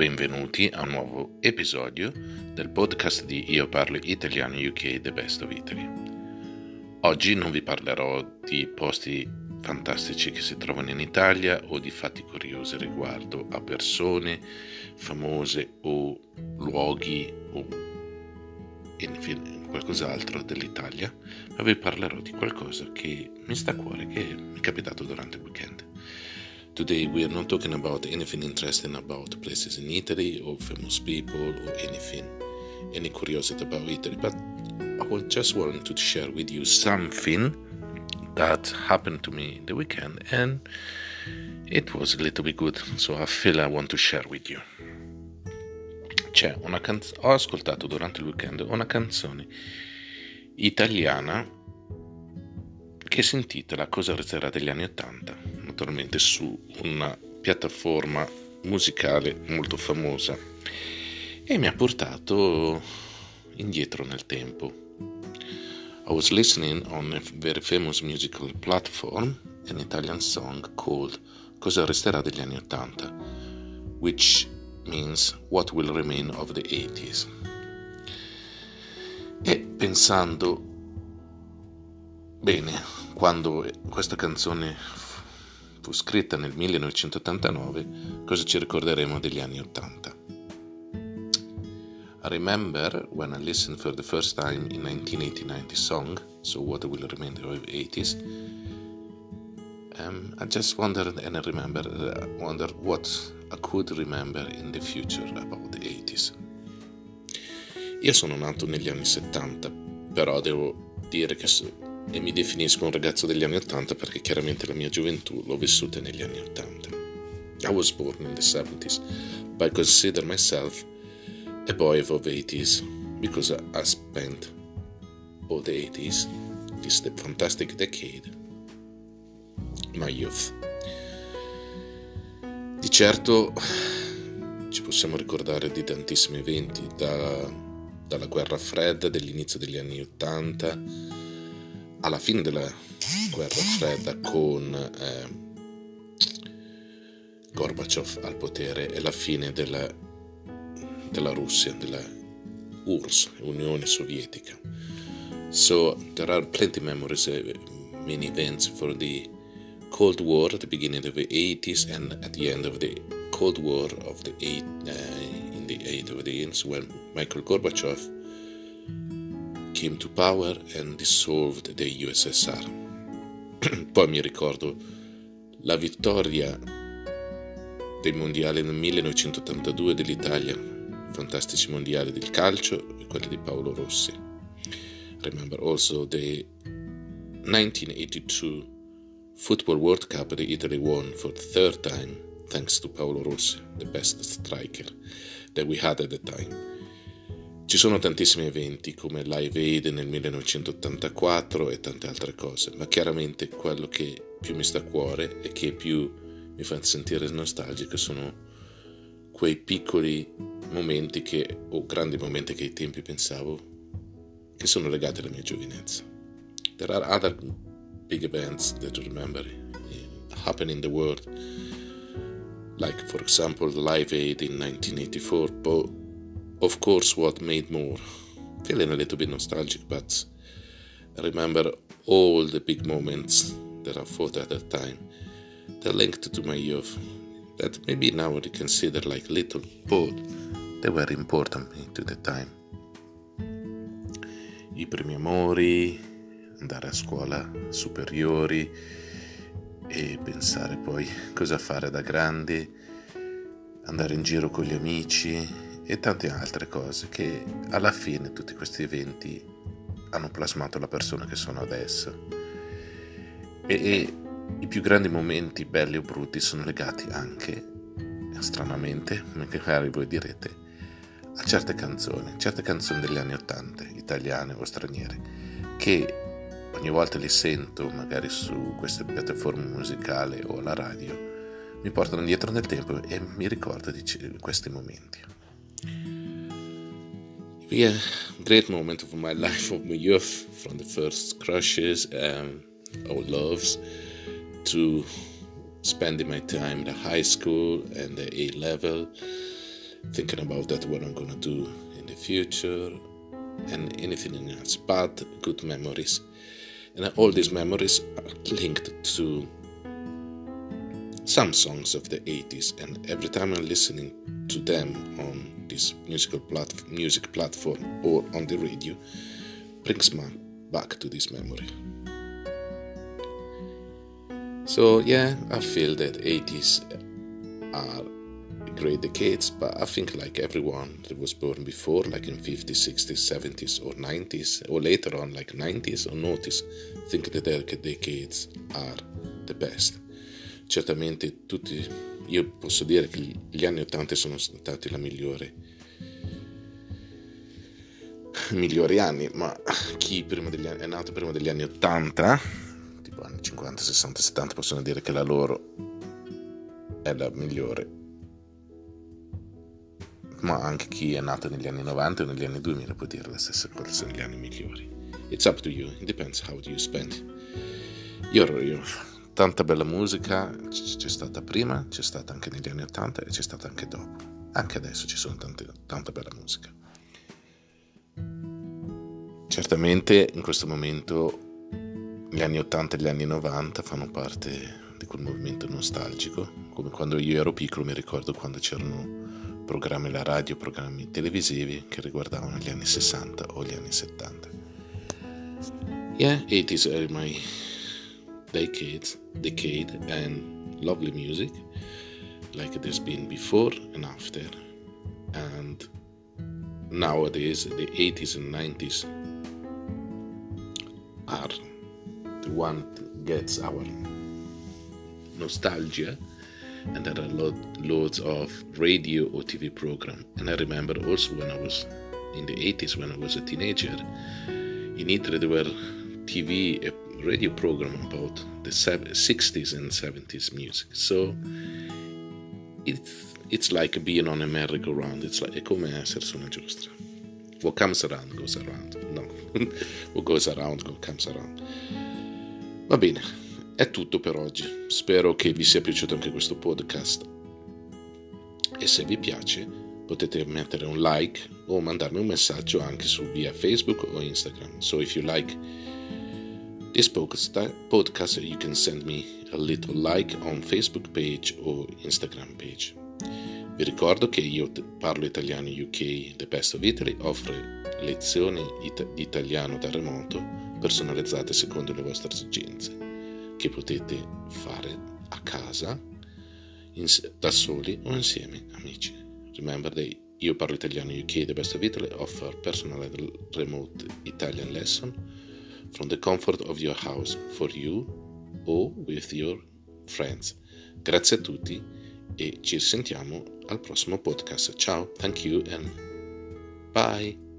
benvenuti a un nuovo episodio del podcast di Io Parlo Italiano UK The Best of Italy. Oggi non vi parlerò di posti fantastici che si trovano in Italia o di fatti curiosi riguardo a persone famose o luoghi o qualcos'altro dell'Italia, ma vi parlerò di qualcosa che mi sta a cuore, che mi è capitato durante il weekend. Today we are not talking about anything interesting about places in Italy or famous people or any curiosity about Italy, but I would just want to share with you something that happened to me the weekend and it was a little bit good, so I feel I want to share with you. Ho ascoltato durante il weekend una canzone italiana che si intitola Cosa resterà degli anni '80, naturalmente su una piattaforma musicale molto famosa, e mi ha portato indietro nel tempo. I was listening on a very famous musical platform an Italian song called Cosa resterà degli anni '80, which means What will remain of the 80s. E pensando bene, quando questa canzone fu scritta nel 1989, cosa ci ricorderemo degli anni '80? I remember when I listened for the first time in 1989 the song, so What will remain of the 80s, I just wondered and wondered what I could remember in the future about the 80s. Io sono nato negli anni 70, però devo dire che e mi definisco un ragazzo degli anni 80 perché chiaramente la mia gioventù l'ho vissuta negli anni 80. I was born in the 70s, but I consider myself a boy of the 80s because I spent all the 80s, this fantastic decade, my youth. Di certo ci possiamo ricordare di tantissimi eventi, dalla guerra fredda dell'inizio degli anni 80 alla fine della guerra fredda con Gorbaciov al potere e la fine della Russia, della URSS, Unione Sovietica. So there are plenty of memories, many events for the Cold War at the beginning of the 80s and at the end of the Cold War of the in the 80s when Michael Gorbachev came to power and dissolved the USSR. Poi mi ricordo la vittoria dei mondiali nel 1982 dell'Italia, i fantastici mondiali del calcio e quelli di Paolo Rossi. Remember also the 1982 Football World Cup that Italy won for the third time thanks to Paolo Rossi, the best striker that we had at the time. Ci sono tantissimi eventi come Live Aid nel 1984 e tante altre cose, ma chiaramente quello che più mi sta a cuore e che più mi fa sentire nostalgico sono quei piccoli momenti o grandi momenti che ai tempi pensavo che sono legati alla mia giovinezza. There are other big events that I remember happen in the world, like for example Live Aid in 1984, but of course what made more feeling a little bit nostalgic, but I remember all the big moments that I fought at that time. They're linked to my youth that maybe now I consider like little, but they were important to the time. I primi amori, andare a scuola superiori e pensare poi cosa fare da grandi, andare in giro con gli amici e tante altre cose che alla fine tutti questi eventi hanno plasmato la persona che sono adesso. E i più grandi momenti, belli o brutti, sono legati anche, stranamente, magari voi direte, a certe canzoni degli anni '80, italiane o straniere, che ogni volta li sento magari su queste piattaforme musicali o alla radio, mi portano indietro nel tempo e mi ricordo di questi momenti. Yeah, great moment of my life, of my youth, from the first crushes or loves to spending my time in the high school and the A level thinking about that what I'm gonna do in the future and anything else, but good memories. And all these memories are linked to some songs of the 80s, and every time I'm listening to them on this music platform or on the radio, brings me back to this memory. So yeah, I feel that 80s are great decades, but I think like everyone that was born before, like in 50s, 60s, 70s or 90s, or later on like 90s or 90s, think that their decades are the best. Certamente io posso dire che gli anni 80 sono stati la migliori anni, ma chi è nato prima degli anni 80, tipo anni 50, 60, 70, possono dire che la loro è la migliore, ma anche chi è nato negli anni 90 o negli anni 2000 può dire la stessa cosa, sono gli anni migliori. It's up to you, it depends how do you spend. Io tanta bella musica c'è stata prima, c'è stata anche negli anni 80 e c'è stata anche dopo. Anche adesso ci sono tanta bella musica. Certamente in questo momento gli anni 80 e gli anni 90 fanno parte di quel movimento nostalgico, come quando io ero piccolo. Mi ricordo quando c'erano programmi alla radio, programmi televisivi che riguardavano gli anni 60 o gli anni 70. Yeah, 80s are my decade and lovely music, like there's been before and after, and nowadays the 80s and 90s are the one that gets our nostalgia, and there are loads of radio or TV program. And I remember also when I was in the 80s, when I was a teenager, in Italy there were TV radio program about the 60s and 70s music. So it's like being on a merry-go-round. È come essere su una giostra. What comes around goes around. No, what goes around comes around. Va bene, è tutto per oggi. Spero che vi sia piaciuto anche questo podcast, e se vi piace potete mettere un like o mandarmi un messaggio anche via Facebook o Instagram. So if you like this podcast, you can send me a little like on Facebook page or Instagram page. Vi ricordo che io parlo italiano UK, The Best of Italy offre lezioni di italiano da remoto personalizzate secondo le vostre esigenze, che potete fare a casa, da soli o insieme amici. Remember that io parlo italiano UK, The Best of Italy offer personalized remote Italian lesson from the comfort of your house for you or with your friends. Grazie a tutti e ci sentiamo al prossimo podcast. Ciao, thank you and bye.